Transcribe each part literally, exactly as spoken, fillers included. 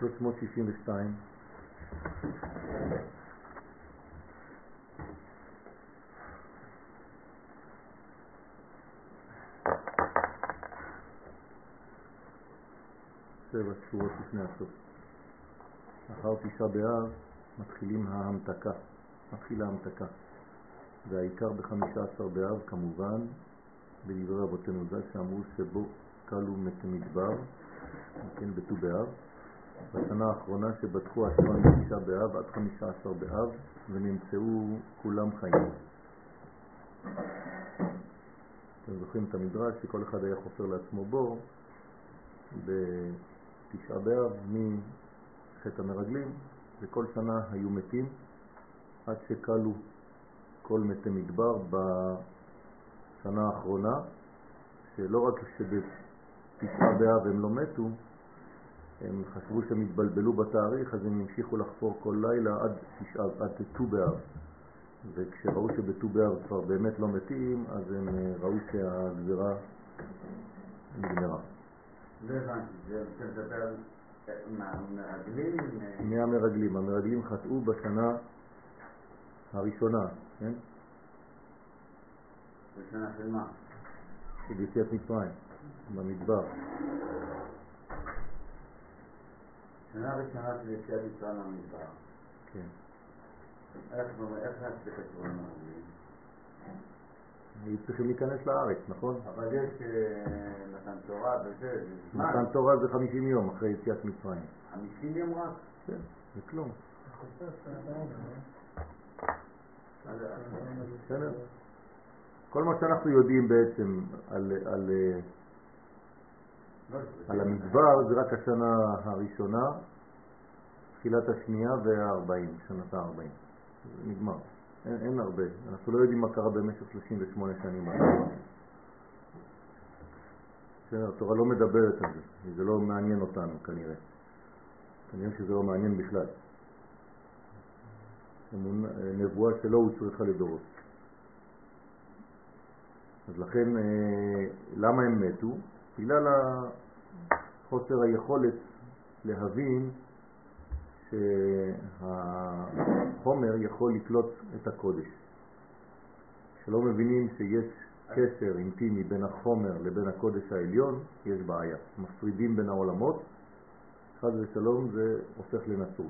שלוש מאות שישים ושתיים. שבע שורות לפני הסוף. אחר תשעה באב מתחילים ההמתקה, מתחילה ההמתקה. והעיקר בחמישה עשר באב כמובן, בדברי רבותינו ז"ל שאמרו שבו קלו מתי מדבר, כן, בט"ו באב. בשנה האחרונה שבדקו השעון מתשעה באב עד חמישה עשר באב ונמצאו כולם חיים. אתם זוכרים את המדרש שכל אחד היה חופר לעצמו בור בתשעה באב מחטא המרגלים, וכל שנה היו מתים עד שקלו כל מתי מדבר בשנה האחרונה, שלא רק שבתשעה באב הם לא מתו, הם חשבו שהם התבלבלו בתאריך, אז הם המשיכו לחפור כל לילה עד תשעה, עד ט"ו באב. וכשראו שבט"ו באב כבר באמת לא מתים, אז הם ראו שהגזרה נגמרה. לא הבנתי, זה מדבר מהמרגלים? מהמרגלים. המרגלים חטאו בשנה הראשונה, כן? בשנה של מה? של יציאת מצרים, במדבר. שנה ראשונה של יציאת מצרים במדבר. כן. איך זה קשור למרגלים? היו צריכים להיכנס לארץ, נכון? אבל יש מתן תורה וזה... מתן תורה זה חמישים יום אחרי יציאת מצרים. חמישים יום רק? כן, זה כלום. בסדר. כל מה שאנחנו יודעים בעצם על, על, על המדבר זה רק השנה הראשונה, תחילת השנייה והארבעים, שנת הארבעים. זה נגמר. אין, אין הרבה. אנחנו לא יודעים מה קרה במשך שלושים ושמונה שנים. התורה לא מדברת על זה. זה לא מעניין אותנו כנראה. כנראה שזה לא מעניין בכלל. נבואה שלא הוצרכה לדורות. אז לכן, למה הם מתו? בגלל חוסר היכולת להבין שהחומר יכול לקלוט את הקודש. שלא מבינים שיש קשר אינטימי בין החומר לבין הקודש העליון, יש בעיה. מפרידים בין העולמות, חד ושלום זה הופך לנצרות.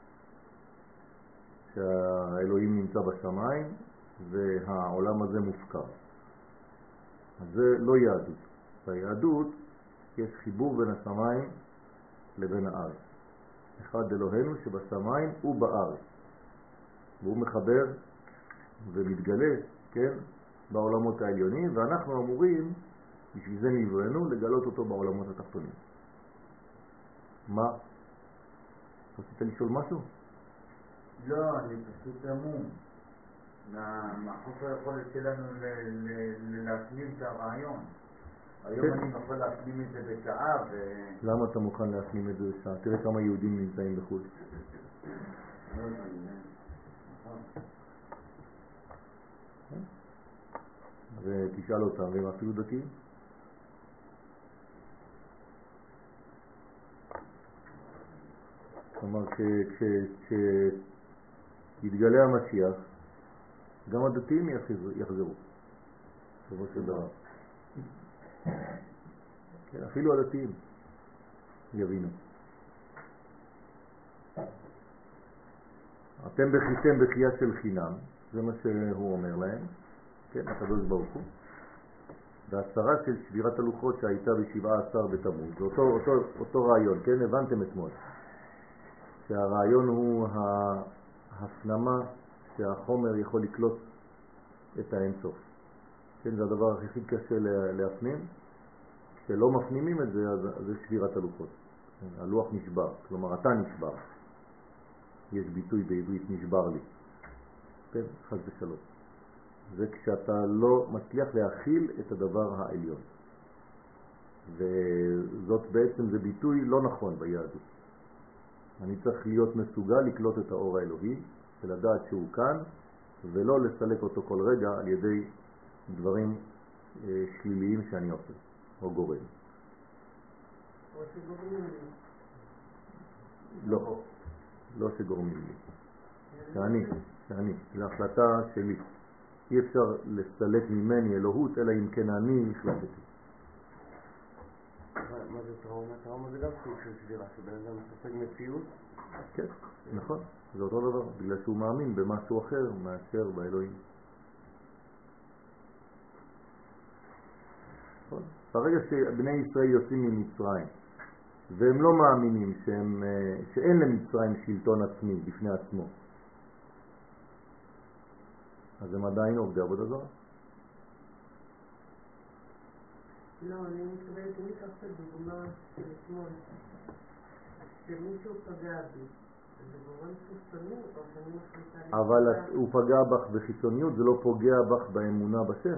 שהאלוהים נמצא בשמיים והעולם הזה מופקר. אז זה לא יהדות. ביהדות יש חיבור בין השמיים לבין הארץ. אחד אלוהינו שבשמיים ובארץ. והוא מחבר ומתגלה, כן, בעולמות העליונים, ואנחנו אמורים, בשביל זה נבראנו, לגלות אותו בעולמות התחתונים. מה? רצית לשאול משהו? לא, אני פשוט אמון. מהחוסר היכולת שלנו להפנים את הרעיון. היום אני יכול להפנים את זה בשעה ו... למה אתה מוכן להפנים את זה בשעה? תראה כמה יהודים נמצאים בחוץ. ותשאל אותם, והם אפילו דתיים. כלומר, כשיתגלה המשיח, גם הדתיים יחזרו. בסופו של דבר. כן, אפילו הדתיים יבינו. אתם בכיתם בחייה של חינם, זה מה שהוא אומר להם, כן, הקדוש ברוך הוא. והצרה של שבירת הלוחות שהייתה ב-שבעה עשר בתמוז, זה אותו, אותו, אותו רעיון, כן, הבנתם אתמול. שהרעיון הוא ההפנמה שהחומר יכול לקלוט את האינסוף. כן, זה הדבר הכי קשה להפנים. כשלא מפנימים את זה, אז זה שבירת הלוחות. הלוח נשבר, כלומר אתה נשבר. יש ביטוי בעברית נשבר לי. כן, חס ושלום. זה כשאתה לא מצליח להכיל את הדבר העליון. וזאת בעצם זה ביטוי לא נכון ביהדות. אני צריך להיות מסוגל לקלוט את האור האלוהי, ולדעת שהוא כאן, ולא לסלק אותו כל רגע על ידי דברים אה, שליליים שאני עושה, או גורם. לא, לא שגורמים לי. שאני, שאני, זו החלטה שלי. אי אפשר לסלק ממני אלוהות, אלא אם כן אני החלטתי. מה זה טראומה? טראומה זה גם סוג של שבירה, שבן אדם מספק מציאות? כן, נכון, זה אותו דבר, בגלל שהוא מאמין במשהו אחר מאשר באלוהים. נכון? ברגע שבני ישראל יוצאים ממצרים, והם לא מאמינים שהם, שאין למצרים שלטון עצמי בפני עצמו, אז הם עדיין עובדי עבודה זרה. לא, אני מתכוונת, אני אקח את הדוגמה של אתמול, שמישהו פגע בי, זה גורם חיצוני או שאני מחליטה... אבל הוא פגע בך בחיצוניות, זה לא פוגע בך באמונה בשם.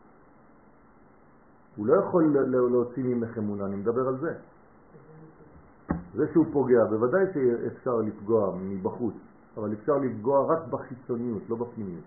הוא לא יכול להוציא ממך אמונה, אני מדבר על זה. זה שהוא פוגע, בוודאי שאפשר לפגוע מבחוץ, אבל אפשר לפגוע רק בחיצוניות, לא בפנימיות.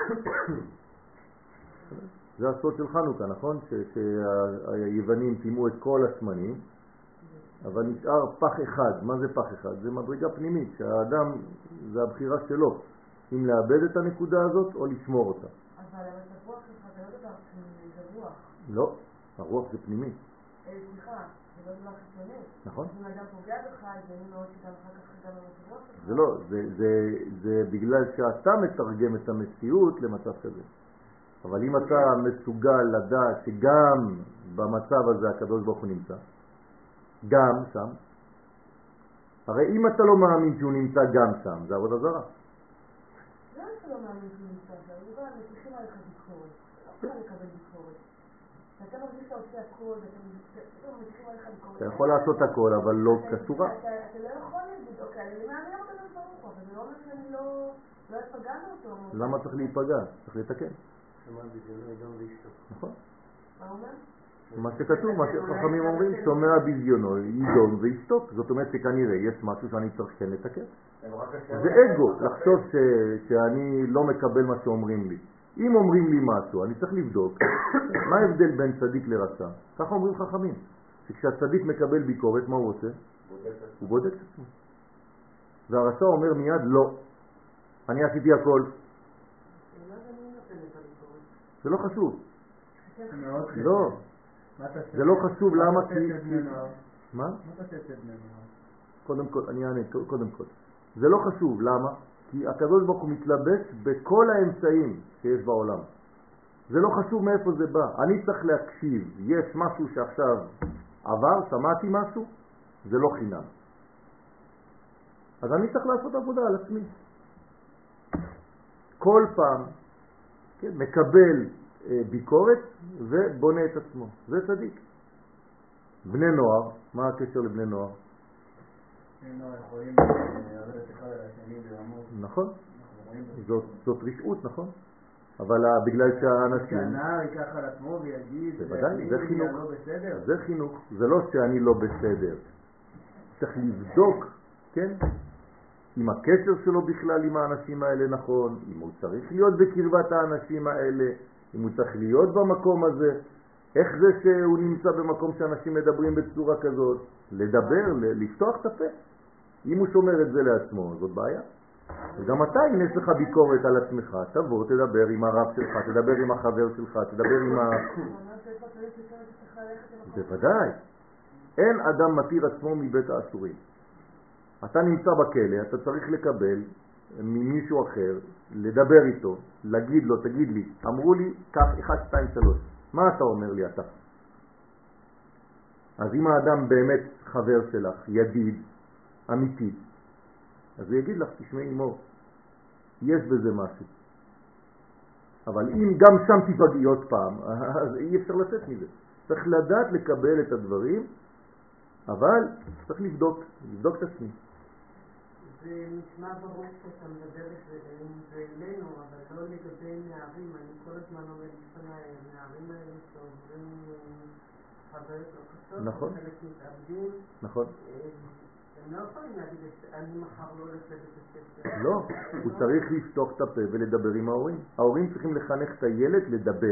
זה הסוד של חנוכה, נכון? שהיוונים טימו את כל השמנים, אבל נשאר פח אחד. מה זה פח אחד? זה מדרגה פנימית, שהאדם, זה הבחירה שלו, אם לאבד את הנקודה הזאת או לשמור אותה. אבל הרוח שלך זה לא דבר פנימי, זה רוח. לא, הרוח זה פנימי. סליחה, זה לא דבר חיצוני. נכון. אם אדם פוגע בך, זה אני מאוד שגם אחר כך גם הרוח שלך. זה לא, זה, זה, זה בגלל שאתה מתרגם את המציאות למצב כזה. אבל אם אתה מסוגל לדעת שגם במצב הזה הקדוש ברוך הוא נמצא, גם שם, הרי אם אתה לא מאמין שהוא נמצא גם שם, זה עבודה זרה. לא אתה לא מאמין שהוא נמצא שם, זה בא, מתחילים עליך ביקורת, לא יכולה לקבל ביקורת. ואתה מרגיש שאתה עושה הכל, ואתה מתחילים עליך ביקורת. אתה יכול לעשות הכל, אבל לא כשורה. אתה לא יכול להגיד, אוקיי, אני מאמין אותו לברוך, אבל זה לא אומר שאני לא אפגענו אותו. למה צריך להיפגע? צריך לתקן. נכון. מה אומר? מה שכתוב, מה שחכמים אומרים, שומע בזיונו, יידום וישתוק. זאת אומרת שכנראה יש משהו שאני צריך כן לתקן. זה אגו, לחשוב שאני לא מקבל מה שאומרים לי. אם אומרים לי משהו, אני צריך לבדוק מה ההבדל בין צדיק לרשע. ככה אומרים חכמים, שכשהצדיק מקבל ביקורת, מה הוא עושה? הוא בודק את עצמו. והרשע אומר מיד לא, אני עשיתי הכל. זה לא חשוב. לא. זה לא חשוב, למה? מה? מה אתה תעשה בני נוער? קודם כל, אני אענה, קודם כל. זה לא חשוב, למה? כי הקדוש ברוך הוא מתלבש בכל האמצעים שיש בעולם. זה לא חשוב מאיפה זה בא. אני צריך להקשיב. יש משהו שעכשיו עבר, שמעתי משהו, זה לא חינם. אז אני צריך לעשות עבודה על עצמי. כל פעם, כן, מקבל אה, ביקורת ובונה את עצמו. זה צדיק. בני נוער, מה הקשר לבני נוער? בני נוער יכולים לרדת אחד על השני ולעמוד. נכון. זאת, זאת רשעות, נכון. אבל בגלל שהאנשים... שהנער ייקח על עצמו ויגיד, בוודאי, זה חינוך. לא בסדר. זה חינוך. זה לא שאני לא בסדר. צריך לבדוק, כן? אם הקשר שלו בכלל עם האנשים האלה נכון, אם הוא צריך להיות בקרבת האנשים האלה, אם הוא צריך להיות במקום הזה, איך זה שהוא נמצא במקום שאנשים מדברים בצורה כזאת, לדבר, לפתוח את הפה. אם הוא שומר את זה לעצמו, זאת בעיה. וגם אתה, אם יש לך ביקורת על עצמך, תבוא, תדבר עם הרב שלך, תדבר עם החבר שלך, תדבר עם ה... בוודאי. אין אדם מתיר עצמו מבית האסורים. אתה נמצא בכלא, אתה צריך לקבל ממישהו אחר, לדבר איתו, להגיד לו, תגיד לי, אמרו לי כך, אחד, שתיים, שלוש. מה אתה אומר לי אתה? אז אם האדם באמת חבר שלך, ידיד, אמיתי, אז הוא יגיד לך, תשמעי מור, יש בזה משהו. אבל אם גם שם תפגעי עוד פעם, אז אי אפשר לצאת מזה. צריך לדעת לקבל את הדברים, אבל צריך לבדוק, לבדוק את עצמי. זה נשמע ברור שאתה מדבר אלינו, אבל לא לגבי נערים. אני כל הזמן עומד לפני הנערים האלה שעוברים חוויות לא קשות, נכון. חלק מתאבדים. נכון. הם לא יכולים להגיד, אני מחר לא הולך לבית הספר. לא, הוא צריך לפתוח את הפה ולדבר עם ההורים. ההורים צריכים לחנך את הילד לדבר.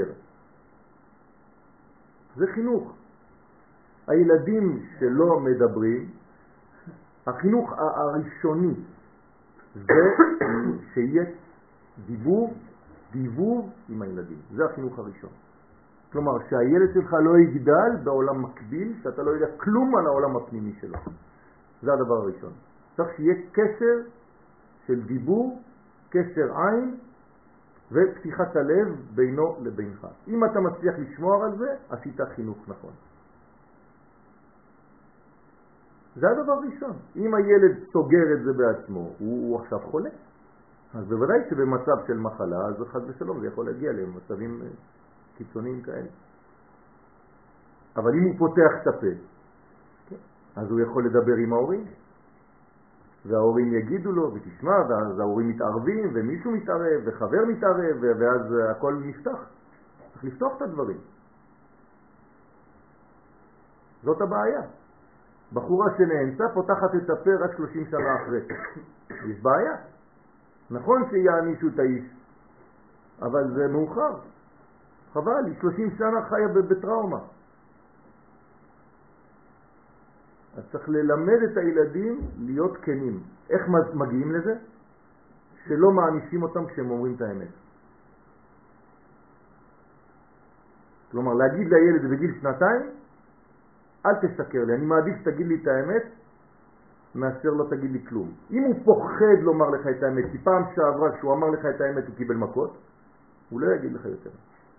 זה חינוך. הילדים שלא מדברים, החינוך הראשוני זה שיהיה דיבור, דיבור עם הילדים. זה החינוך הראשון. כלומר, שהילד שלך לא יגדל בעולם מקביל, שאתה לא יודע כלום על העולם הפנימי שלו. זה הדבר הראשון. צריך שיהיה קשר של דיבור, קשר עין ופתיחת הלב בינו לבינך. אם אתה מצליח לשמור על זה, עשית חינוך נכון. זה הדבר הראשון. אם הילד סוגר את זה בעצמו, הוא, הוא עכשיו חולה. אז בוודאי שבמצב של מחלה, אז חס ושלום זה יכול להגיע למצבים קיצוניים כאלה. אבל אם הוא פותח את הפה, אז הוא יכול לדבר עם ההורים, וההורים יגידו לו, ותשמע, ואז ההורים מתערבים, ומישהו מתערב, וחבר מתערב, ואז הכל נפתח. צריך לפתוח את הדברים. זאת הבעיה. בחורה שנאנסה פותחת את הפה רק שלושים שנה אחרי. יש בעיה. נכון שיענישו את האיש, אבל זה מאוחר. חבל, היא שלושים שנה חיה בטראומה. אז צריך ללמד את הילדים להיות כנים. איך מגיעים לזה? שלא מענישים אותם כשהם אומרים את האמת. כלומר, להגיד לילד בגיל שנתיים, אל תשקר לי, אני מעדיף שתגיד לי את האמת, מאשר לא תגיד לי כלום. אם הוא פוחד לומר לך את האמת, כי פעם שעברה כשהוא אמר לך את האמת הוא קיבל מכות, הוא לא יגיד לך יותר.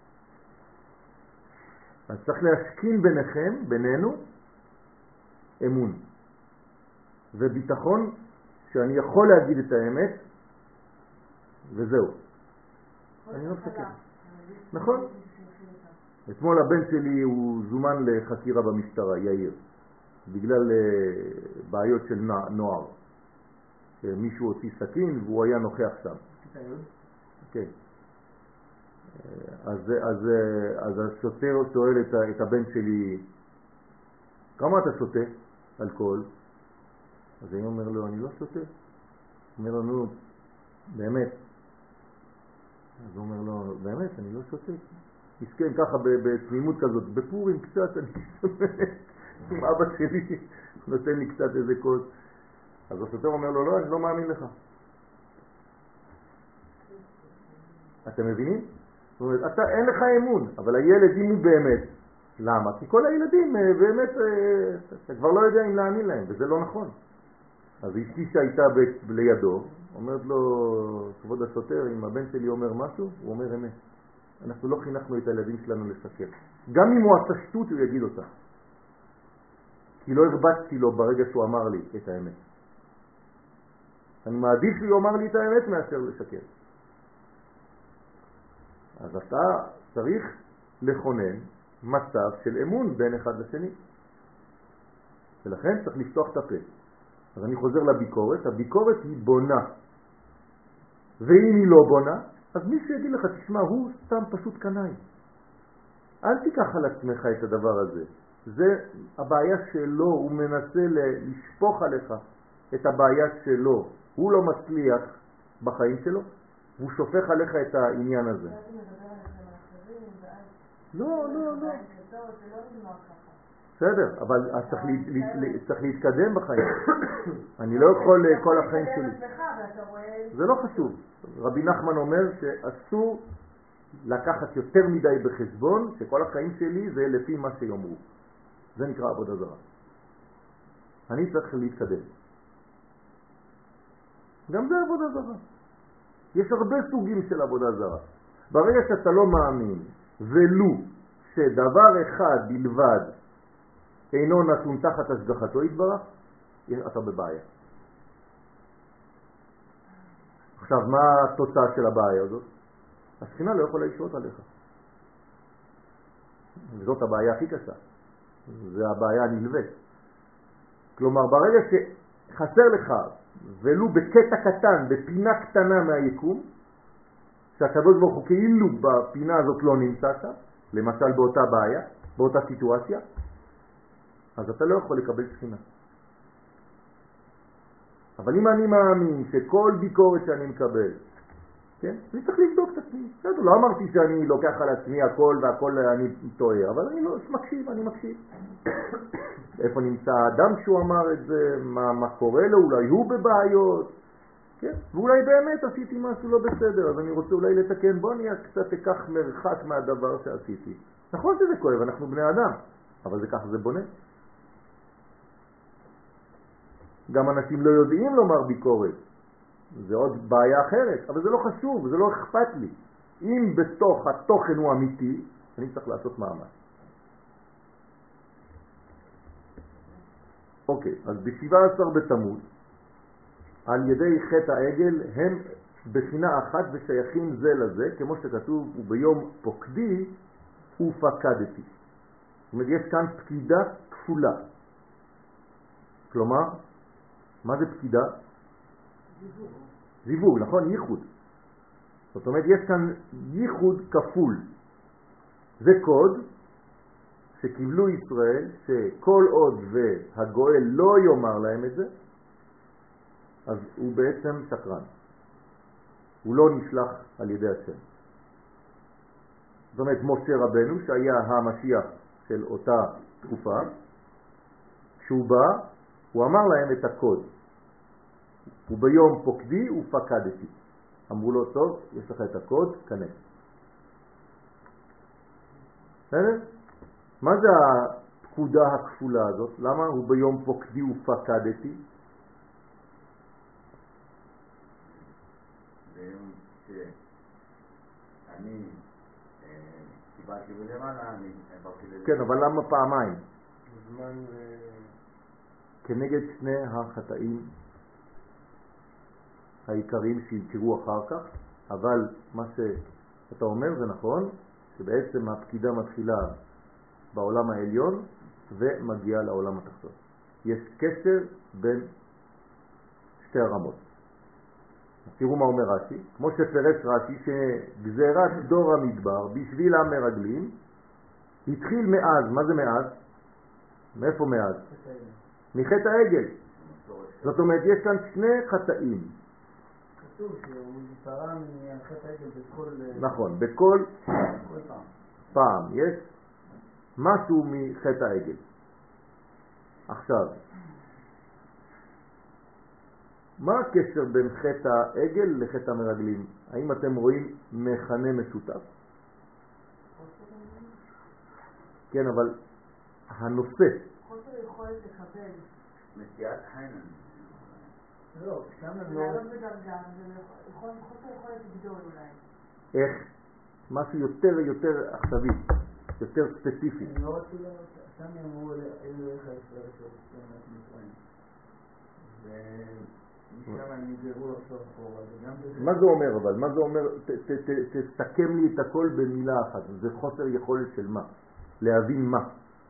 אז צריך להשכין ביניכם, בינינו, אמון וביטחון שאני יכול להגיד את האמת וזהו. אני לא מסכן. נכון? אתמול הבן שלי הוא זומן לחקירה במשטרה, יאיר, בגלל בעיות של נוער. מישהו הוציא סכין והוא היה נוכח שם. כן. אז, אז, אז השוטר שואל את, את הבן שלי, כמה אתה שותה אלכוהול? אז אני אומר לו, אני לא שותה. הוא אומר לו, נו, באמת. אז הוא אומר לו, באמת, אני לא שותה. מסכן ככה בתמימות כזאת, בפורים קצת, אני שומעת עם אבא שלי, נותן לי קצת איזה קוד. אז השוטר אומר לו, לא, אני לא מאמין לך. אתם מבינים? זאת אומרת, אתה, אין לך אמון, אבל הילד, אם הוא באמת, למה? כי כל הילדים באמת, אתה כבר לא יודע אם להאמין להם, וזה לא נכון. אז אשתי שהייתה לידו, אומרת לו, כבוד השוטר, אם הבן שלי אומר משהו, הוא אומר אמת. אנחנו לא חינכנו את הילדים שלנו לשקר. גם אם הוא עששטות, הוא יגיד אותה. כי לא הרבצתי לו ברגע שהוא אמר לי את האמת. אני מעדיף שהוא אמר לי את האמת מאשר לשקר. אז אתה צריך לכונן מצב של אמון בין אחד לשני. ולכן צריך לפתוח את הפה. אז אני חוזר לביקורת. הביקורת היא בונה. ואם היא לא בונה, אז מישהו יגיד לך, תשמע, הוא סתם פשוט קנאי. אל תיקח על עצמך את הדבר הזה. זה הבעיה שלו, הוא מנסה לשפוך עליך את הבעיה שלו. הוא לא מצליח בחיים שלו, והוא שופך עליך את העניין הזה. לא, לא, לא. בסדר, אבל צריך להתקדם בחיים. אני לא יכול כל החיים שלי. זה לא חשוב. רבי נחמן אומר שאסור לקחת יותר מדי בחשבון שכל החיים שלי זה לפי מה שיאמרו. זה נקרא עבודה זרה. אני צריך להתקדם. גם זה עבודה זרה. יש הרבה סוגים של עבודה זרה. ברגע שאתה לא מאמין ולו שדבר אחד בלבד אינו נתון תחת השגחתו יתברך, אתה בבעיה. עכשיו, מה התוצאה של הבעיה הזאת? השכינה לא יכולה לשרות עליך. וזאת הבעיה הכי קשה. זה הבעיה הנלווית. כלומר, ברגע שחסר לך, ולו בקטע קטן, בפינה קטנה מהיקום, שהקדוש ברוך הוא כאילו בפינה הזאת לא נמצא שם, למשל באותה בעיה, באותה סיטואציה, אז אתה לא יכול לקבל שכינה. אבל אם אני מאמין שכל ביקורת שאני מקבל כן? אני צריך לבדוק את עצמי. בסדר, לא אמרתי שאני לוקח על עצמי הכל והכל אני טועה, אבל אני לא מקשיב, אני מקשיב. איפה נמצא האדם שהוא אמר את זה, מה, מה קורה לו, אולי הוא בבעיות, כן? ואולי באמת עשיתי משהו לא בסדר, אז אני רוצה אולי לתקן, בוא אני קצת אקח מרחק מהדבר שעשיתי. נכון שזה כואב, אנחנו בני אדם, אבל זה ככה זה בונה. גם אנשים לא יודעים לומר ביקורת, זה עוד בעיה אחרת, אבל זה לא חשוב, זה לא אכפת לי. אם בתוך התוכן הוא אמיתי, אני צריך לעשות מאמץ. אוקיי, אז ב-שבעה עשר בתמוז, על ידי חטא העגל, הם בחינה אחת ושייכים זה לזה, כמו שכתוב, וביום פוקדי ופקדתי. זאת אומרת, יש כאן פקידה כפולה. כלומר, מה זה פקידה? זיווג. זיווג, נכון? ייחוד. זאת אומרת, יש כאן ייחוד כפול. זה קוד שקיבלו ישראל, שכל עוד והגואל לא יאמר להם את זה, אז הוא בעצם שקרן. הוא לא נשלח על ידי השם. זאת אומרת, משה רבנו, שהיה המשיח של אותה תקופה, כשהוא בא, הוא אמר להם את הקוד. וביום פוקדי ופקדתי. אמרו לו, טוב, יש לך את הקוד, כנס. בסדר? מה זה הפקודה הכפולה הזאת? למה הוא ביום פוקדי ופקדתי? ביום שאני קיבלתי בלמעלה, אני עברתי לזה. כן, אבל למה פעמיים? זמן... כנגד שני החטאים העיקריים שיזכרו אחר כך, אבל מה שאתה אומר זה נכון, שבעצם הפקידה מתחילה בעולם העליון ומגיעה לעולם התחתון. יש קשר בין שתי הרמות. תראו מה אומר רש"י, כמו שפרש רש"י, שגזירת דור המדבר בשביל המרגלים התחיל מאז. מה זה מאז? מאיפה מאז? מחטא העגל. זאת אומרת, יש כאן שני חטאים. כתוב שהוא נפטרה מחטא העגל בכל... נכון, בכל פעם. פעם יש משהו מחטא העגל. עכשיו, מה הקשר בין חטא העגל לחטא המרגלים? האם אתם רואים מכנה משותף? כן, אבל הנושא. חוסר יכולת לקבל. מציאת חיינן. לא, שם הם לא... לעלות בדרגה, חוסר יכולת לגדול אולי. איך? משהו יותר יותר עכשווי, יותר ספציפי. הם לא רצו לראות, שם הם אמרו אלו איך הישראל של מצרים. ומשם הם נגזרו לחשוב אחורה. מה זה אומר אבל? מה זה אומר? תסכם לי את הכל במילה אחת. זה חוסר יכולת של מה? להבין מה?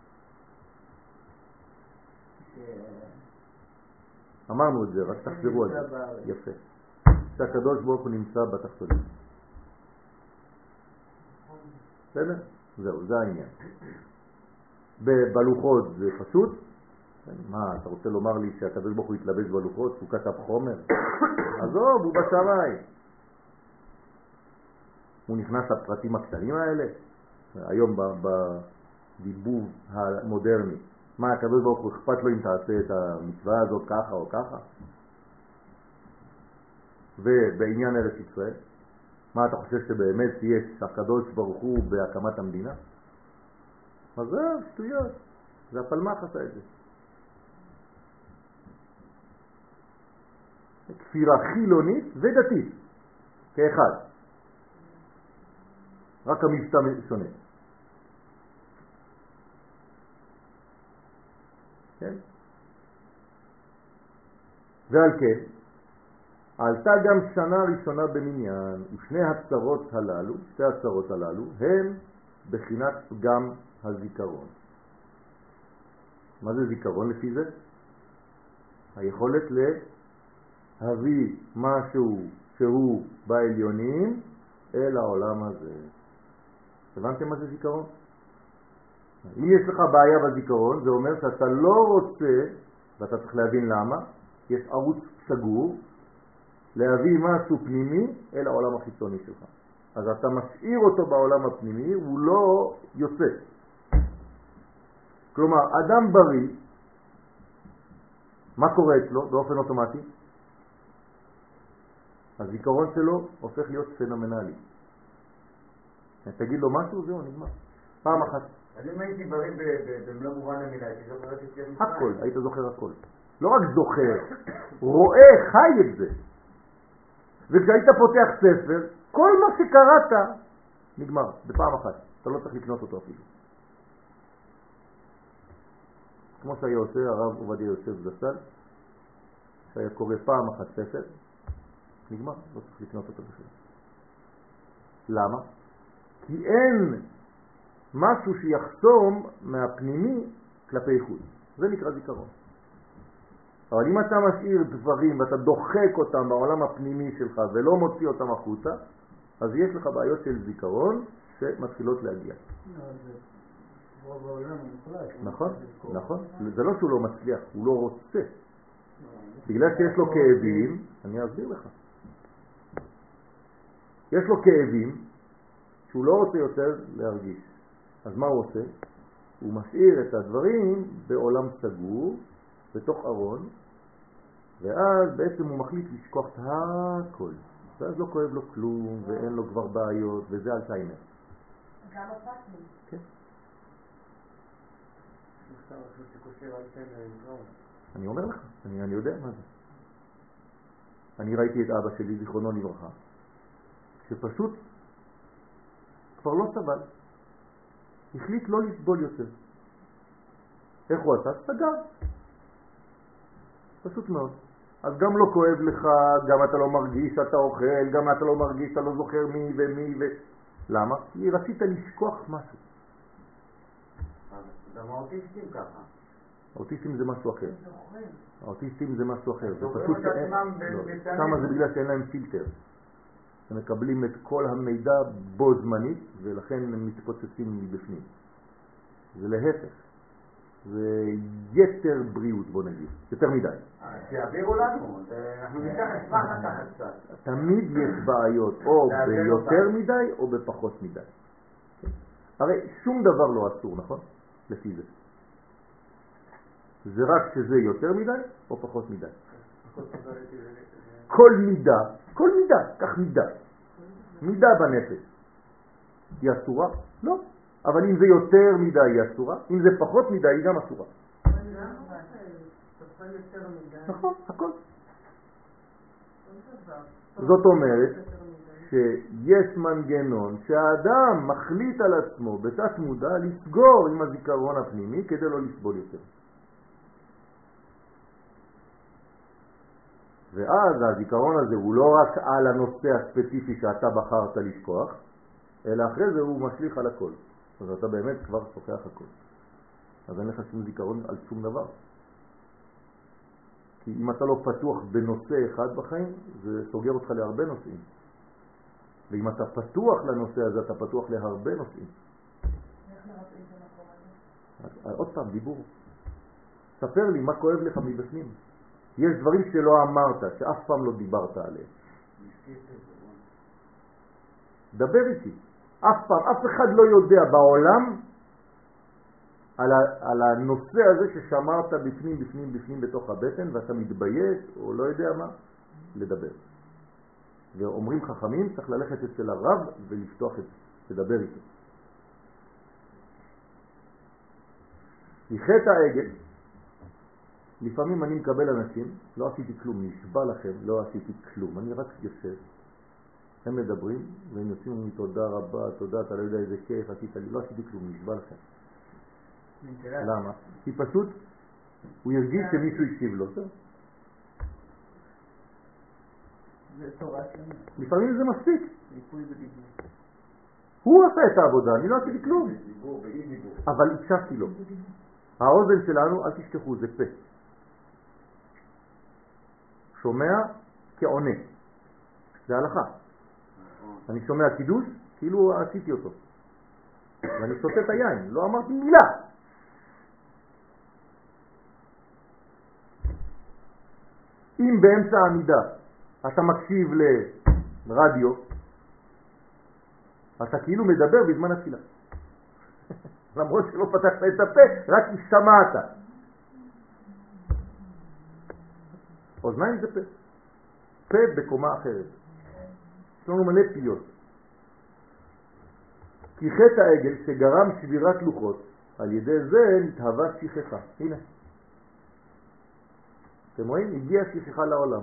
אמרנו את זה, רק תחזרו על זה. יפה. שהקדוש ברוך הוא נמצא בתחתונים. בסדר? זהו, זה העניין. בלוחות זה פשוט. מה, אתה רוצה לומר לי שהקדוש ברוך הוא יתלבש בלוחות, הוא כתב חומר? עזוב, הוא בשמיים. הוא נכנס לפרטים הקטנים האלה. היום בדיבוב המודרני. מה, הקדוש ברוך הוא אכפת לו אם תעשה את המצווה הזאת ככה או ככה? ובעניין ארץ ישראל, מה אתה חושב שבאמת יש הקדוש ברוך הוא בהקמת המדינה? אז זה שטויות, זה הפלמח עשה את זה. כפירה חילונית ודתית, כאחד. רק המבטא שונה. כן? ועל כן, עלתה גם שנה ראשונה במניין, ושני הצרות הללו, שתי הצרות הללו, הם בחינת פגם הזיכרון. מה זה זיכרון לפי זה? היכולת להביא משהו שהוא בעליונים אל העולם הזה. הבנתם מה זה זיכרון? אם יש לך בעיה בזיכרון, זה אומר שאתה לא רוצה, ואתה צריך להבין למה, יש ערוץ סגור להביא משהו פנימי אל העולם החיצוני שלך. אז אתה משאיר אותו בעולם הפנימי, הוא לא יוצא. כלומר, אדם בריא, מה קורה אצלו באופן אוטומטי? הזיכרון שלו הופך להיות פנומנלי. תגיד לו משהו, זהו, נגמר. פעם אחת. אז אם הייתי בריא במלוא מובן המילה, הייתי זוכר את יציאת מצרים. הכל, היית זוכר הכל. לא רק זוכר, רואה, חי את זה. וכשהיית פותח ספר, כל מה שקראת נגמר, בפעם אחת. אתה לא צריך לקנות אותו אפילו. כמו שהיה עושה הרב עובדיה יוסף זצ"ל, שהיה קורא פעם אחת ספר, נגמר, לא צריך לקנות אותו בכלל. למה? כי אין משהו שיחסום מהפנימי כלפי חוץ. זה נקרא זיכרון. אבל אם אתה משאיר דברים ואתה דוחק אותם בעולם הפנימי שלך ולא מוציא אותם החוצה, אז יש לך בעיות של זיכרון שמתחילות להגיע. נכון, נכון. זה לא שהוא לא מצליח, הוא לא רוצה. בגלל שיש לו כאבים, אני אסביר לך. יש לו כאבים שהוא לא רוצה יותר להרגיש. אז מה הוא עושה? הוא משאיר את הדברים בעולם סגור, בתוך ארון, ואז בעצם הוא מחליט לשכוח את הכל. ואז לא כואב לו כלום, ואין לו כבר בעיות, וזה אלצהיימר. גם הפאקים. כן. אני אומר לך, אני, אני יודע מה זה. אני ראיתי את אבא שלי, זיכרונו לברכה, שפשוט כבר לא סבל. החליט לא לסבול יותר. איך הוא עשה? סגר. פשוט מאוד. אז גם לא כואב לך, גם אתה לא מרגיש שאתה אוכל, גם אתה לא מרגיש שאתה לא זוכר מי ומי ו... למה? כי רצית לשכוח משהו. גם האוטיסטים ככה. האוטיסטים זה משהו אחר. האוטיסטים זה משהו אחר. זה זוכרים פשוט את שאין... עצמם לא. בצנעים. שמה זה בגלל שאין להם פילטר. הם מקבלים את כל המידע בו זמנית, ולכן הם מתפוצצים מבפנים. זה להפך. זה יתר בריאות, בוא נגיד. יותר מדי. שיעבירו לנו. אנחנו ניקח אשמח לקחת קצת. תמיד יש בעיות, או ביותר מדי או בפחות מדי. הרי שום דבר לא אסור, נכון? לפי זה. זה רק שזה יותר מדי או פחות מדי. כל מידה, כל מידה, כך מידה. מידה בנפש. היא אסורה? לא. אבל אם זה יותר מדי היא אסורה, אם זה פחות מדי היא גם אסורה. נכון, הכל. זאת אומרת שיש מנגנון שהאדם מחליט על עצמו בתת מודע לסגור עם הזיכרון הפנימי כדי לא לסבול יותר. ואז הזיכרון הזה הוא לא רק על הנושא הספציפי שאתה בחרת לשכוח, אלא אחרי זה הוא משליך על הכל. אז אתה באמת כבר שוכח הכל. אז אין לך שום זיכרון על שום דבר. כי אם אתה לא פתוח בנושא אחד בחיים, זה סוגר אותך להרבה נושאים. ואם אתה פתוח לנושא הזה, אתה פתוח להרבה נושאים. איך נראה את המקום הזה? עוד פעם, דיבור. ספר לי מה כואב לך מבפנים. יש דברים שלא אמרת, שאף פעם לא דיברת עליהם. דבר איתי. אף פעם, אף אחד לא יודע בעולם על, ה, על הנושא הזה ששמרת בפנים, בפנים, בפנים בתוך הבטן, ואתה מתבייש או לא יודע מה, לדבר. ואומרים חכמים, צריך ללכת אצל הרב ולפתוח את זה, לדבר איתו. כי חטא העגל, לפעמים אני מקבל אנשים, לא עשיתי כלום, נשבע לכם, לא עשיתי כלום, אני רק יושב, הם מדברים, והם יוצאים לי תודה רבה, תודה, אתה לא יודע איזה כיף, עשית לי, לא עשיתי כלום, נשבע לכם. למה? כי פשוט הוא ירגיש שמישהו הקשיב לו. זה תורה שלנו. לפעמים זה מספיק. הוא עשה את העבודה, אני לא עשיתי כלום. אבל הקשבתי לו. האוזן שלנו, אל תשכחו, זה פה. שומע כעונה. זה הלכה. אני שומע קידוש, כאילו עשיתי אותו. ואני שותה את היין, לא אמרתי מילה. אם באמצע העמידה אתה מקשיב לרדיו, אתה כאילו מדבר בזמן התפילה. למרות שלא פתחת את הפה, רק שמעת. אוזניים זה פה. פה בקומה אחרת. יש לנו מלא פיות. כי חטא העגל שגרם שבירת לוחות, על ידי זה נתהווה שכחה. הנה. אתם רואים? הגיעה שכחה לעולם.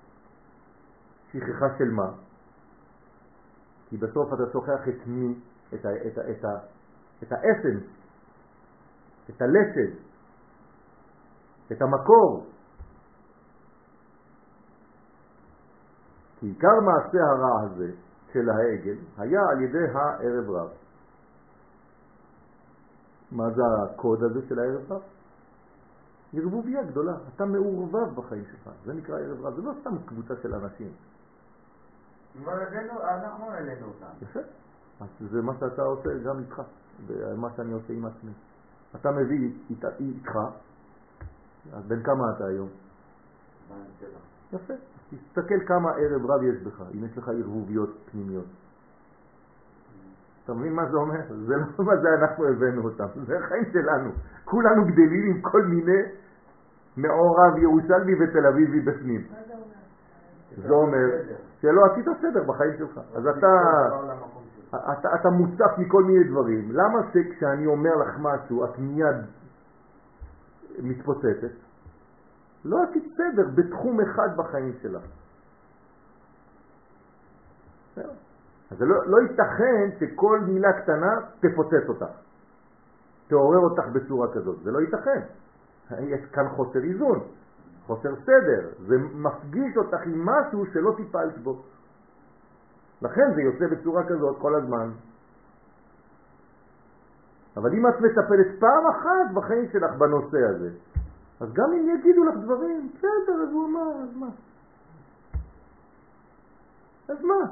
שכחה של מה? כי בסוף אתה שוכח את מי, את ה, את ה, את ה, את האסנס, את הלסד, את המקור. כי עיקר מעשה הרע הזה של העגל היה על ידי הערב רב. מה זה הקוד הזה של הערב רב? ערבוביה גדולה. אתה מעורבב בחיים שלך. זה נקרא ערב רב. זה לא סתם קבוצה של אנשים. אבל אנחנו העלינו אותם. יפה. אז זה מה שאתה עושה גם איתך. ומה שאני עושה עם עצמי. אתה מביא איתך. אז בין כמה אתה היום? יפה. תסתכל כמה ערב רב יש בך, אם יש לך ערבוביות פנימיות. אתה מבין מה זה אומר? זה לא מה זה אנחנו הבאנו אותם, זה החיים שלנו. כולנו גדלים עם כל מיני מעורב ירושלמי ותל אביבי בפנים. זה אומר שלא עשית סדר בחיים שלך. אז אתה, אתה, אתה מוצף מכל מיני דברים. למה שכשאני אומר לך משהו, את מיד מתפוצצת? לא עשית סדר בתחום אחד בחיים שלך. אז לא, לא ייתכן שכל מילה קטנה תפוצץ אותך, תעורר אותך בצורה כזאת. זה לא ייתכן. יש כאן חוסר איזון, חוסר סדר. זה מפגיש אותך עם משהו שלא טיפלת בו. לכן זה יוצא בצורה כזאת כל הזמן. אבל אם את מטפלת פעם אחת בחיים שלך בנושא הזה, אז גם אם יגידו לך דברים, בסדר, אז הוא אמר, אז מה? אז מה?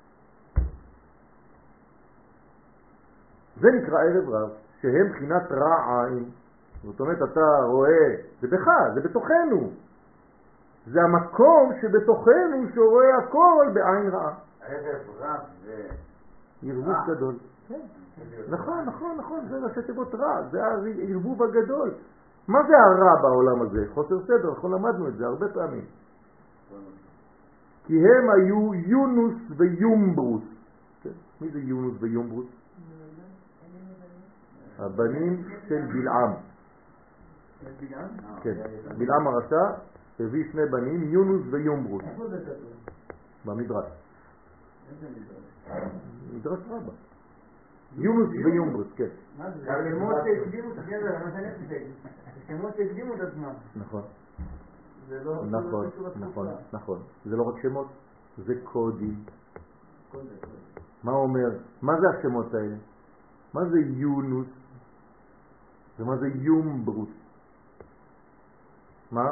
זה נקרא ערב רב, שהם בחינת רע עין. זאת אומרת, אתה רואה, זה בך, זה בתוכנו. זה המקום שבתוכנו שרואה הכל בעין רעה. ערב רב זה... ערבוב גדול. נכון, נכון, נכון, זה ראשי תיבות רע, זה הערבוב הגדול. מה זה הרע בעולם הזה? חוסר סדר, אנחנו למדנו את זה הרבה פעמים. כי הם היו יונוס ויומברוס. מי זה יונוס ויומברוס? הבנים של בלעם. כן, בלעם הרשע הביא שני בנים, יונוס ויומברוס. במדרש. מדרש רבה. יונוס ויומברוס, כן. השמות שהקדימו את הגבר, מה שאני חושב. השמות שהקדימו את עצמם. נכון. זה לא... נכון, נכון, נכון. זה לא רק שמות, זה קודים. מה אומר? מה זה השמות האלה? מה זה יונוס? ומה זה יומברוס? מה?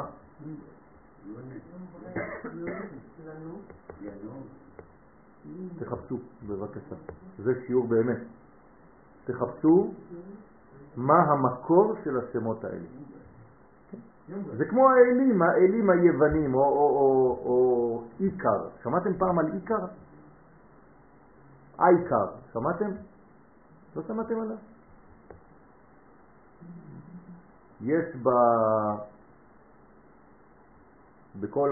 תחפשו בבקשה. זה שיעור באמת. תחפשו מה המקור של השמות האלה. זה כמו האלים, האלים היוונים או, או, או, או איקר. שמעתם פעם על איקר? אייקר, שמעתם? לא שמעתם עליו? יש ב... בכל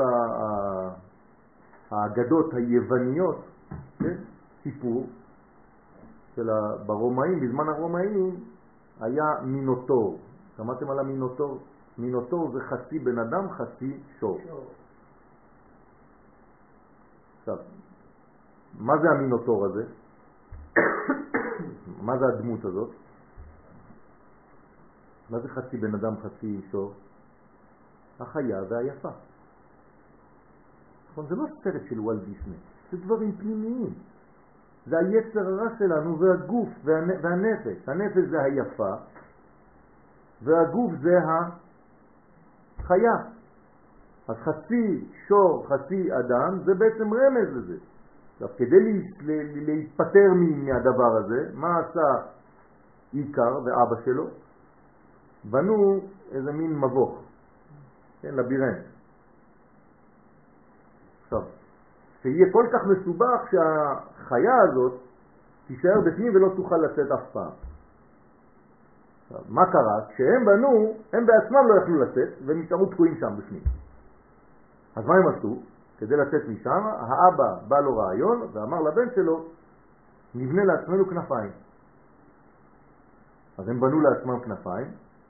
האגדות היווניות, כן? סיפור של ברומאים, בזמן הרומאים היה מינוטור. שמעתם על המינוטור? מינוטור זה חצי בן אדם, חצי שור. עכשיו, מה זה המינוטור הזה? מה זה הדמות הזאת? מה זה חצי בן אדם, חצי שור? החיה והיפה. זה לא סרט של וולט דיסני, זה דברים פנימיים. זה היצר הרע שלנו והגוף והנפש. הנפש זה היפה והגוף זה החיה. אז חצי שור, חצי אדם, זה בעצם רמז לזה. עכשיו, כדי להיפטר מהדבר הזה, מה עשה איקר ואבא שלו? בנו איזה מין מבוך, כן, לבירנט. עכשיו, שיהיה כל כך מסובך שהחיה הזאת תישאר בפנים ולא תוכל לצאת אף פעם. מה קרה? כשהם בנו, הם בעצמם לא יכלו לצאת והם נשארו תקועים שם בפנים. אז מה הם עשו? כדי לצאת משם, האבא בא לו רעיון ואמר לבן שלו, נבנה לעצמנו כנפיים. אז הם בנו לעצמם כנפיים,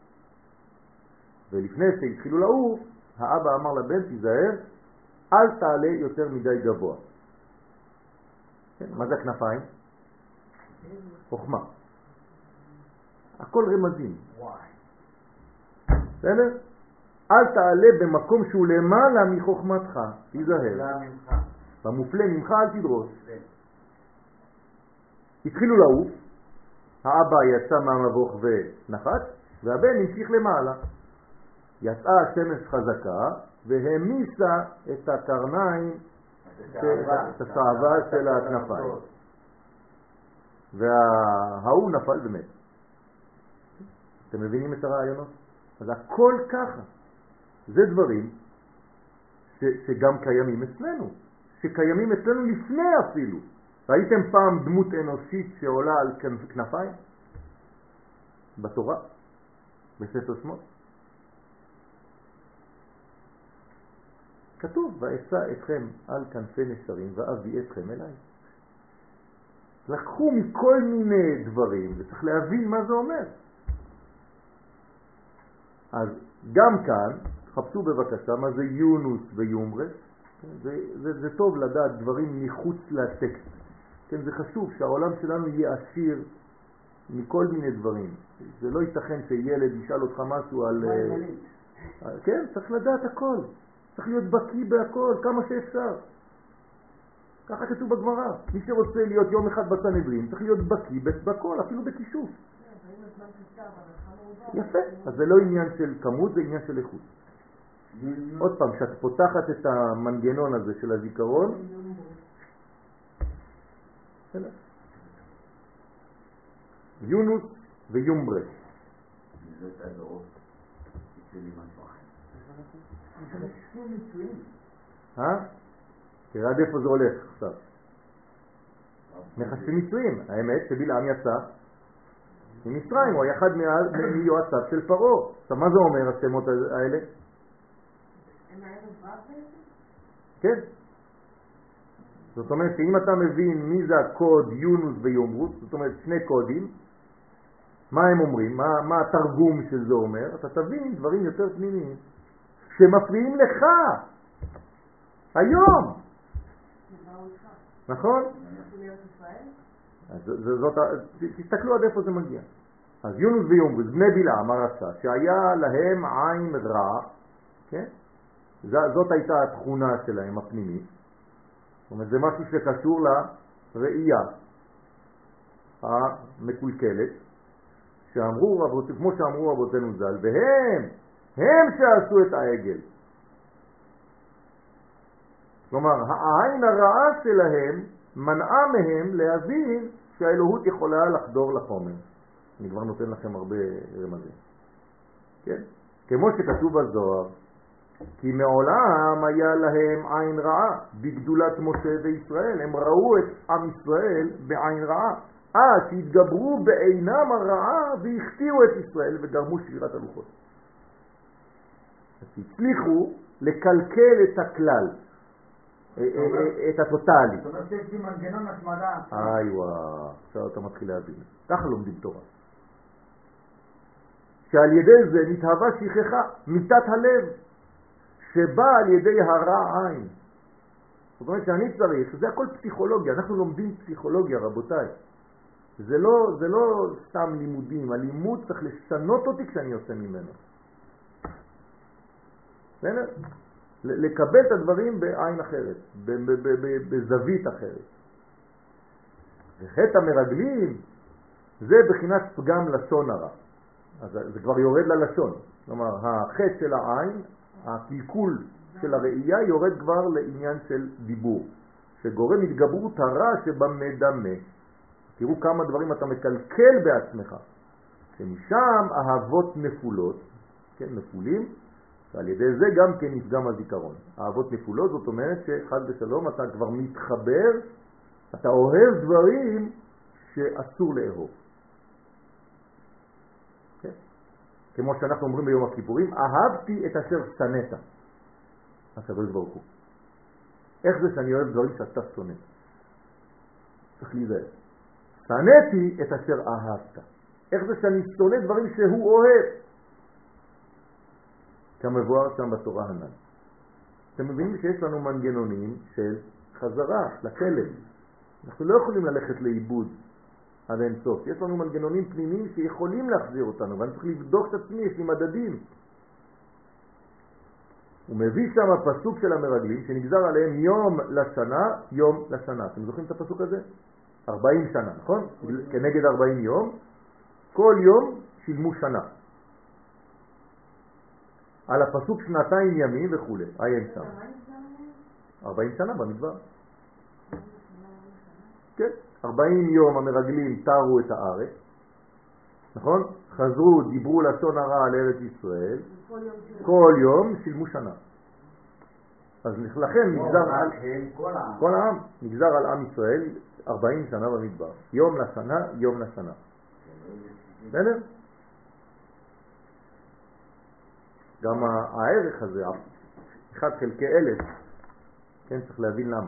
ולפני שהתחילו לעוף, האבא אמר לבן, תיזהר, אל תעלה יותר מדי גבוה. כן, מה זה הכנפיים? חוכמה. הכל רמזים. בסדר? אל תעלה במקום שהוא למעלה מחוכמתך, תיזהר. במופלא ממך אל תדרוש. התחילו לעוף, האבא יצא מהמבוך ונחת, והבן המשיך למעלה. יצאה השמש חזקה והמיסה את הקרניים, את הצעבה של הכנפיים. וההוא נפל ומת. אתם מבינים את הרעיונות? אז הכל ככה. זה דברים ש, שגם קיימים אצלנו, שקיימים אצלנו לפני אפילו. ראיתם פעם דמות אנושית שעולה על כנפיים? בתורה? בספר שמות? כתוב, ואשא אתכם על כנפי נשרים ואביא אתכם אליי. לקחו מכל מיני דברים וצריך להבין מה זה אומר. אז גם כאן, חפשו בבקשה מה זה יונוס ויומרס. זה, זה, זה טוב לדעת דברים מחוץ לטקסט. כן, זה חשוב שהעולם שלנו יהיה עשיר מכל מיני דברים. זה לא ייתכן שילד ישאל אותך משהו על... כן, צריך לדעת הכל. צריך להיות בקיא בהכל, כמה שאפשר. ככה כתוב בגמרא. מי שרוצה להיות יום אחד בסנהדרין, צריך להיות בקיא בהכל, אפילו בכישוף. יפה. אז זה לא עניין של כמות, זה עניין של איכות. עוד פעם, כשאת פותחת את המנגנון הזה של הזיכרון, יונוס ויומברס. זה את הדורות. זה לי משהו אחר. אה? תראה עד איפה זה הולך עכשיו. מחשבים מצויים. האמת שבלעם יצא ממצרים, הוא היה אחד מיועציו של פרעה. עכשיו מה זה אומר השמות האלה? הם היו בעצם? כן. זאת אומרת שאם אתה מבין מי זה הקוד יונוס ויומרוס, זאת אומרת שני קודים, מה הם אומרים, מה, מה התרגום של זה אומר, אתה תבין דברים יותר פנימיים שמפריעים לך היום. נכון? אז זאת, תסתכלו עד איפה זה מגיע. אז יונוס ויומרוס, בני בלעם הרשע, שהיה להם עין רע, כן? זאת הייתה התכונה שלהם הפנימית. זאת אומרת, זה משהו שקשור לראייה המקולקלת, שאמרו רבותינו, כמו שאמרו רבותינו ז"ל, והם, הם שעשו את העגל. כלומר, העין הרעה שלהם מנעה מהם להבין שהאלוהות יכולה לחדור לחומר. אני כבר נותן לכם הרבה רמזים. כן? כמו שכתוב בזוהר, כי מעולם היה להם עין רעה בגדולת משה וישראל. הם ראו את עם ישראל בעין רעה. אה, שהתגברו בעינם הרעה והכתירו את ישראל וגרמו שבירת הלוחות. אז הצליחו לקלקל את הכלל, את הטוטלי. זאת אומרת שיש לי מנגנון השמדה. איי וואו, עכשיו אתה מתחיל להבין. ככה לומדים תורה. שעל ידי זה נתהווה שכחה, מיטת הלב, שבא על ידי הרע עין. זאת אומרת שאני צריך, זה הכל פסיכולוגיה, אנחנו לומדים פסיכולוגיה רבותיי. זה לא, זה לא סתם לימודים, הלימוד צריך לשנות אותי כשאני יוצא ממנו. בסדר? לקבל את הדברים בעין אחרת, בזווית אחרת. וחטא המרגלים זה בחינת פגם לשון הרע. אז זה כבר יורד ללשון. כלומר, החטא של העין, הקלקול של הראייה יורד כבר לעניין של דיבור, שגורם התגברות הרע שבמדמה. תראו כמה דברים אתה מקלקל בעצמך. שמשם אהבות נפולות, כן, נפולים, ועל ידי זה גם כן נפגם הזיכרון. אהבות נפולות, זאת אומרת שחד ושלום אתה כבר מתחבר, אתה אוהב דברים שאסור לאהוב. כן? כמו שאנחנו אומרים ביום הכיפורים, אהבתי את אשר שנאת. הקדוש ברוך הוא. איך זה שאני אוהב דברים שאתה שונא? צריך להיזהר. שנאתי את אשר אהבת. איך זה שאני שונא דברים שהוא אוהב? כמבואר שם בתורה הנ"ל. אתם מבינים שיש לנו מנגנונים של חזרה לכלב. אנחנו לא יכולים ללכת לאיבוד עד אין סוף. יש לנו מנגנונים פנימיים שיכולים להחזיר אותנו, ואני צריך לבדוק את עצמי, יש לי מדדים. הוא מביא שם הפסוק של המרגלים שנגזר עליהם יום לשנה, יום לשנה. אתם זוכרים את הפסוק הזה? ארבעים שנה, נכון? כנגד ארבעים יום. כל יום שילמו שנה. על הפסוק שנתיים ימים וכו'. עיין שם. ארבעים שנה במדבר. כן. ארבעים יום המרגלים תארו את הארץ. נכון? חזרו, דיברו לשון הרע על ארץ ישראל. כל יום שילמו שנה. אז לכן נגזר על כל העם. נגזר על עם ישראל ארבעים שנה במדבר. יום לשנה, יום לשנה. בסדר? גם הערך הזה, אחד חלקי אלף, כן, צריך להבין למה.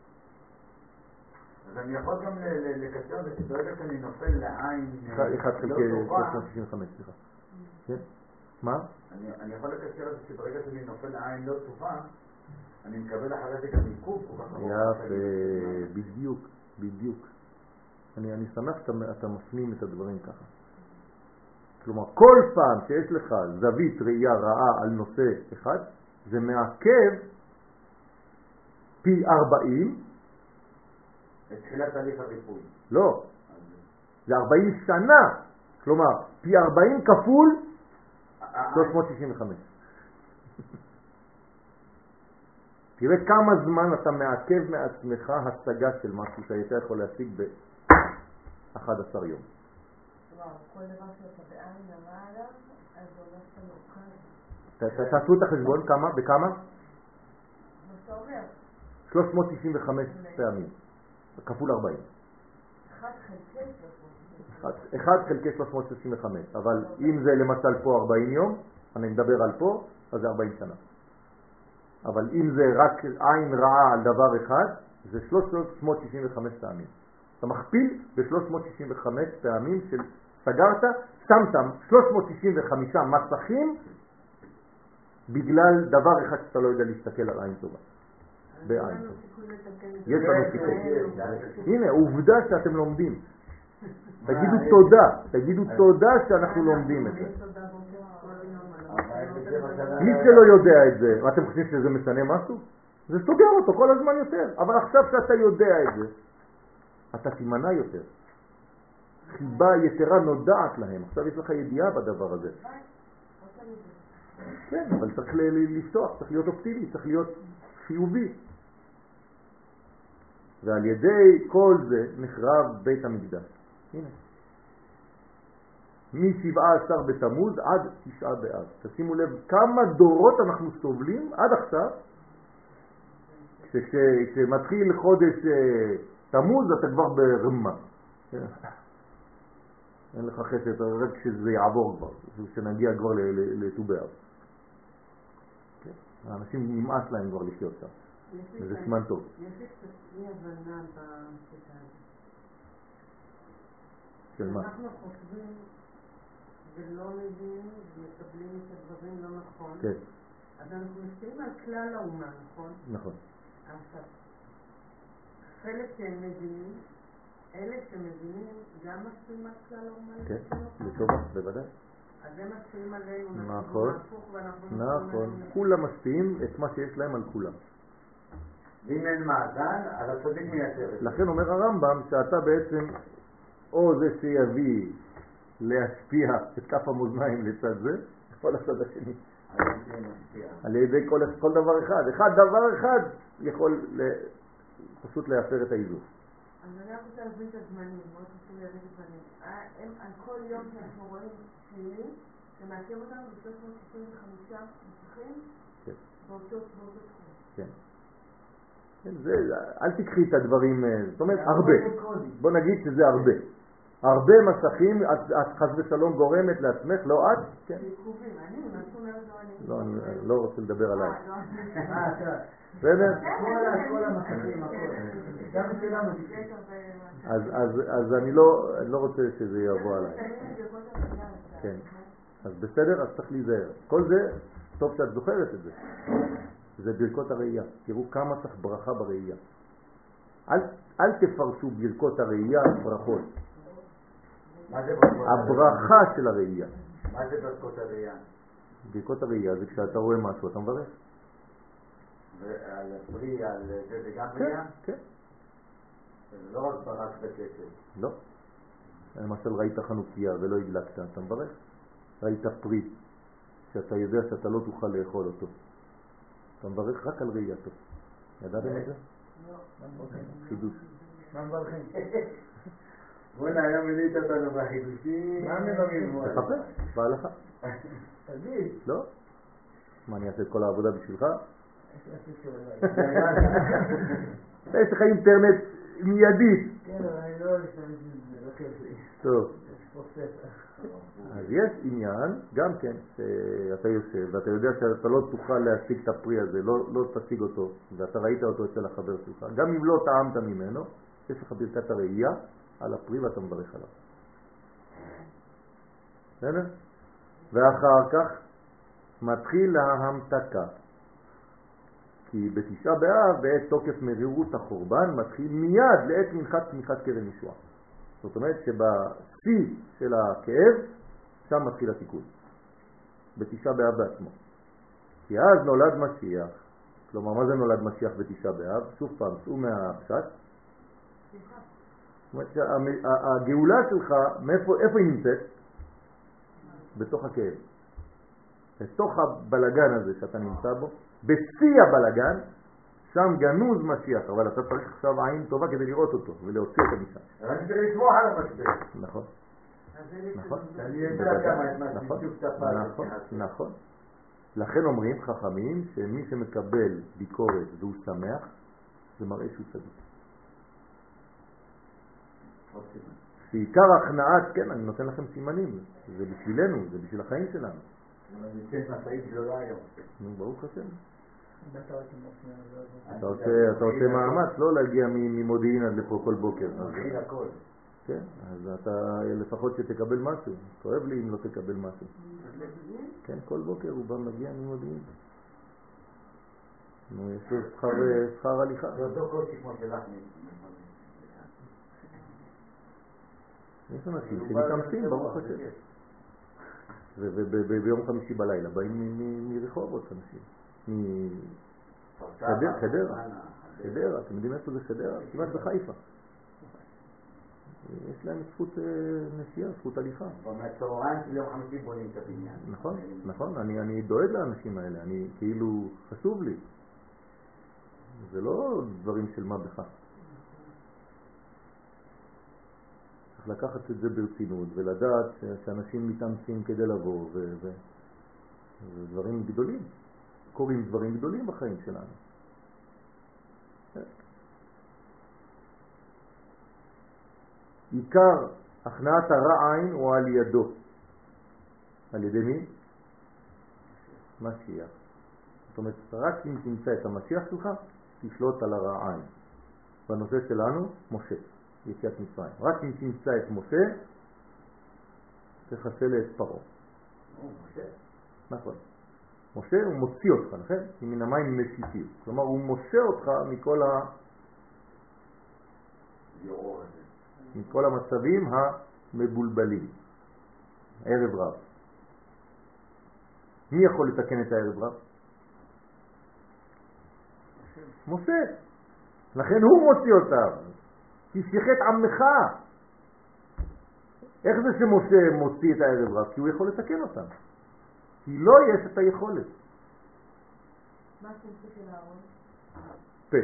אז אני יכול גם לקצר ברגע שאני נופל לעין אחד חלקי שלוש מאות שישים וחמש, סליחה. כן? מה? אני יכול לקצר את זה שברגע שאני נופל לעין לא טובה, אני מקבל אחרי זה גם עיכוב. יפה, בדיוק, בדיוק. אני שמח שאתה מפנים את הדברים ככה. כלומר, כל פעם שיש לך זווית ראייה רעה על נושא אחד, זה מעכב פי ארבעים. את תחילת תהליך הריפוי. לא, זה ארבעים שנה. כלומר, פי ארבעים כפול שלוש מאות שישים וחמש. תראה כמה זמן אתה מעכב מעצמך השגה של משהו שהיית יכול להשיג ב-אחד עשר יום. כל דבר שאתה בעין הרע עליו, אז הולך למוקד. תעשו את החשבון, כמה? בכמה? מה שאתה אומר? שלוש מאות שישים וחמש פעמים, כפול ארבעים. אחד חלקי שלוש מאות. אחד חלקי שלוש מאות שישים וחמש, אבל אם זה למשל פה ארבעים יום, אני מדבר על פה, אז זה ארבעים שנה. אבל אם זה רק עין רעה על דבר אחד, זה שלוש מאות שישים וחמש פעמים. אתה מכפיל ב-שלוש מאות שישים וחמש פעמים של סגרת, שמת שלוש מאות שישים וחמש מסכים בגלל דבר אחד שאתה לא יודע להסתכל על עין טובה. בעין טובה. יש לנו סיכוי. הנה, עובדה שאתם לומדים. תגידו תודה, תגידו תודה שאנחנו לומדים את זה. מי שלא יודע את זה, אתם חושבים שזה משנה משהו? זה סוגר אותו כל הזמן יותר. אבל עכשיו שאתה יודע את זה, אתה תימנע יותר. חיבה יתרה נודעת להם. עכשיו יש לך ידיעה בדבר הזה. כן, אבל צריך לפתוח, צריך להיות אופטימי, צריך להיות חיובי. ועל ידי כל זה נחרב בית המקדש. הנה. מ-שבעה עשר בתמוז עד תשעה באב. תשימו לב כמה דורות אנחנו סובלים עד עכשיו. כשמתחיל חודש תמוז אתה כבר ברמה. אין לך חסד, רק כשזה יעבור כבר, כשנגיע כבר לט"ו באב. האנשים נמאס להם כבר לחיות שם. וזה סימן טוב. יש לי קצת אי הבנה בקטע הזה. של מה? אנחנו חושבים ולא מבינים ומקבלים את הדברים לא נכון. כן. אז אנחנו מסתכלים על כלל האומה, נכון? נכון. עכשיו, חלק שהם מבינים, אלה שמבינים גם משפיעים על כלל האומה? כן, לטובה, בוודאי. אז הם משפיעים עלינו, נכון, נכון. כולם משפיעים את מה שיש להם על כולם. אם אין מאזן, אז הצדיק מייצר. לכן אומר הרמב"ם שאתה בעצם או זה שיביא להשפיע את כף המאזניים לצד זה, או לצד השני. על ידי כל, כל דבר אחד. אחד דבר אחד יכול פשוט להפר את האיזון. אז אני רק רוצה להבין את הזמנים, מאוד חשוב להבין את הזמנים. על כל יום שאנחנו רואים שני, שמעכב אותנו ב-שלוש מאות שישים וחמישה מסכים באותו תחום. כן. אל תקחי את הדברים, זאת אומרת הרבה. בוא נגיד שזה הרבה. הרבה מסכים, את חס ושלום גורמת לעצמך, לא את? כן. עיכובים, אני, מה זאת אומרת לא אני? לא, אני לא רוצה לדבר עליי. בסדר? כל המסכים, הכל. גם שלנו. אז אני לא רוצה שזה יבוא עליי. כן. אז בסדר, אז צריך להיזהר. כל זה, טוב שאת זוכרת את זה. זה ברכות הראייה. תראו כמה צריך ברכה בראייה. אל, אל תפרשו ברכות הראייה ברכות. מה זה ברכות? הברכה של הראייה. מה זה ברכות הראייה? ברכות הראייה זה כשאתה רואה משהו, אתה מברך. ועל הפרי, על זה, זה גם ראייה? כן. זה לא רק ברק בכסף. לא. למשל ראית חנוכיה ולא הדלקת, אתה מברך. ראית פרי, שאתה יודע שאתה לא תוכל לאכול אותו. אתה מברך רק על ראייתו. ידעתם את זה? לא. חידוש. מה מברכים? בוא'נה, היום מילאת אותנו בחידושים. מה מברים? תחפש, בהלכה. תגיד. לא? מה, אני אעשה את כל העבודה בשבילך? יש לך אינטרנט מיידית. כן, אבל אני לא אשתמש בזה, לא כיף לי. טוב. יש פה ספר. אז יש עניין, גם כן, שאתה יושב ואתה יודע שאתה לא תוכל להשיג את הפרי הזה, לא, לא תשיג אותו, ואתה ראית אותו אצל החבר שלך, גם אם לא טעמת ממנו, יש לך ברכת הראייה על הפרי ואתה מברך עליו. בסדר? ואחר כך מתחיל ההמתקה. כי בתשעה באב, בעת תוקף מרירות החורבן, מתחיל מיד לעת מנחת תמיכת קרן ישועה. זאת אומרת שבשיא של הכאב, שם מתחיל התיקון. בתשעה באב בעצמו. כי אז נולד משיח. כלומר, מה זה נולד משיח בתשעה באב? שוב פעם, צאו מהפשט. זאת אומרת שהגאולה שלך, מאיפה, איפה היא נמצאת? בתוך הכאב. בתוך הבלגן הזה שאתה נמצא בו, בשיא הבלגן, שם גנוז משיח, אבל אתה צריך עכשיו עין טובה כדי לראות אותו ולהוציא אותו משם. אני צריך לסמוך על המשבר. נכון. נכון. אני יודע כמה את מה נכון. שבדיוק תפל. נכון. נכון. לכן אומרים חכמים שמי שמקבל ביקורת והוא שמח, זה מראה שהוא צדיק. שעיקר הכנעת, כן, אני נותן לכם סימנים, זה בשבילנו, זה בשביל החיים שלנו. אני נמצאת מסעית גדולה היום. נו, ברוך השם. אתה עושה מאמץ לא להגיע ממודיעין עד לפה כל בוקר. מתחיל הכל. כן, אז אתה לפחות שתקבל משהו. כואב לי אם לא תקבל משהו. כן, כל בוקר הוא בא מגיע ממודיעין. נו, יש לו שכר הליכה. זה אותו קושי כמו שלך. יש אנשים שמתאמצים, ברוך השם. וביום חמישי בלילה באים מרחובות אנשים. מחדרה, חדרה, אתם יודעים איפה זה חדרה? כמעט בחיפה. יש להם זכות נסיעה, זכות הליכה. מהצהריים של יום חמישי בונים את הבניין. נכון, נכון, אני דואג לאנשים האלה, אני כאילו חשוב לי. זה לא דברים של מה בכך. צריך לקחת את זה ברצינות ולדעת שאנשים מתאמצים כדי לבוא וזה דברים גדולים. קוראים דברים גדולים בחיים שלנו. עיקר הכנעת הרע עין הוא על ידו. על ידי מי? משיח. זאת אומרת, רק אם תמצא את המשיח שלך, תשלוט על הרע עין. בנושא שלנו, משה, יציאת מצרים. רק אם תמצא את משה, תחסל את פרעה. משה? נכון. משה הוא מוציא אותך, נכון? מן המים משיתים. כלומר, הוא משה אותך מכל ה... מכל המצבים המבולבלים. ערב רב. מי יכול לתקן את הערב רב? משה. לכן הוא מוציא אותם. תשייך את עמך. איך זה שמשה מוציא את הערב רב? כי הוא יכול לתקן אותם. כי לא יש את היכולת. מה השם של הארון? פה.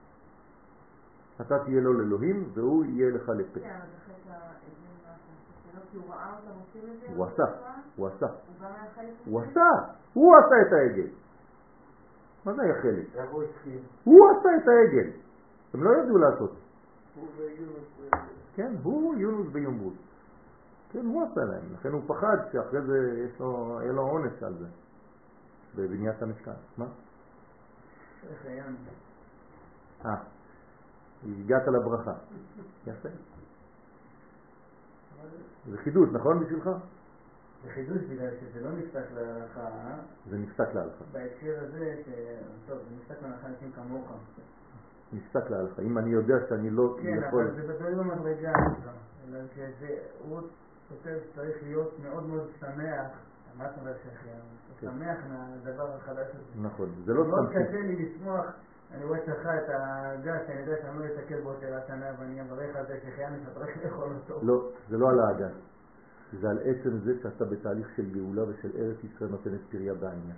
אתה תהיה לו לאלוהים והוא יהיה לך לפה. כן, אבל זה חטא האבן, מה השם הזאת כי הוא ראה אותם עושים את זה? הוא עשה, הוא עשה. הוא גם היה חלק הוא מזה? עשה, הוא עשה את העגל. מה זה היה חלק? איך הוא התחיל? הוא עשה את העגל. הם לא ידעו לעשות. הוא ויונס... כן, הוא יונוס ביומבוס. כן, הוא עשה להם. לכן הוא פחד שאחרי זה יש לו, יהיה לו עונש על זה. בבניית המשכן. מה? איך היה? אה, הגעת לברכה. יפה. זה חידוש, נכון בשבילך? זה חידוש בגלל שזה לא נפסק להלכה, אה? זה נפסק להלכה. בהקשר הזה, ש... טוב, זה נפסק להלכה אנשים כמוך. נפסק להלכה. אם אני יודע שאני לא כן, יכול... אבל זה בדברים במדרגה הזו. אלא שזה, הוא כותב שצריך להיות מאוד מאוד שמח. מה אתה אומר שחיה? שמח מהדבר החדש הזה. נכון, זה לא מאוד סתם. קשה לי לשמוח. אני רואה אצלך את הגז, שאני יודע שאני לא אתקל בו יותר השנה, ואני אברך על זה שחייני שצריך לאכול אותו. לא, זה לא על האגן. זה על עצם זה שאתה בתהליך של גאולה ושל ארץ ישראל נותנת פריה בענייך.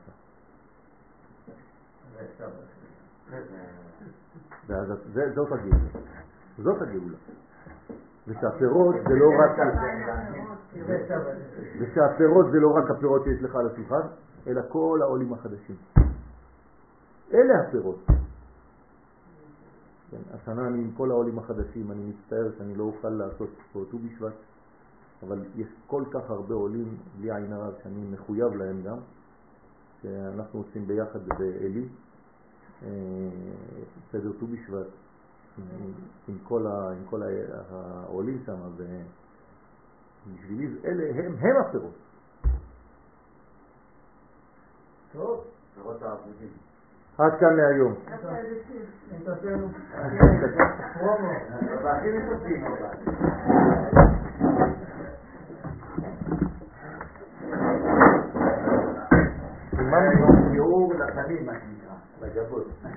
זאת הגאולה. זאת הגאולה. ושהפירות זה לא רק... ושהפירות זה לא רק הפירות שיש לך על השולחן, אלא כל העולים החדשים. אלה הפירות. כן, השנה אני עם כל העולים החדשים, אני מצטער שאני לא אוכל לעשות פה ט"ו בשבט, אבל יש כל כך הרבה עולים בלי עין הרע שאני מחויב להם גם, שאנחנו עושים ביחד באלי, סדר ט"ו בשבט, עם, עם כל, ה, עם כל העולים שם, ובשבילי אלה הם, הם הפירות. טוב, פירות העבודים. עד כאן להיום. פרומו, והכי נתוצאים אבל. סימן שיעור לפנים מה שנקרא, לגבות.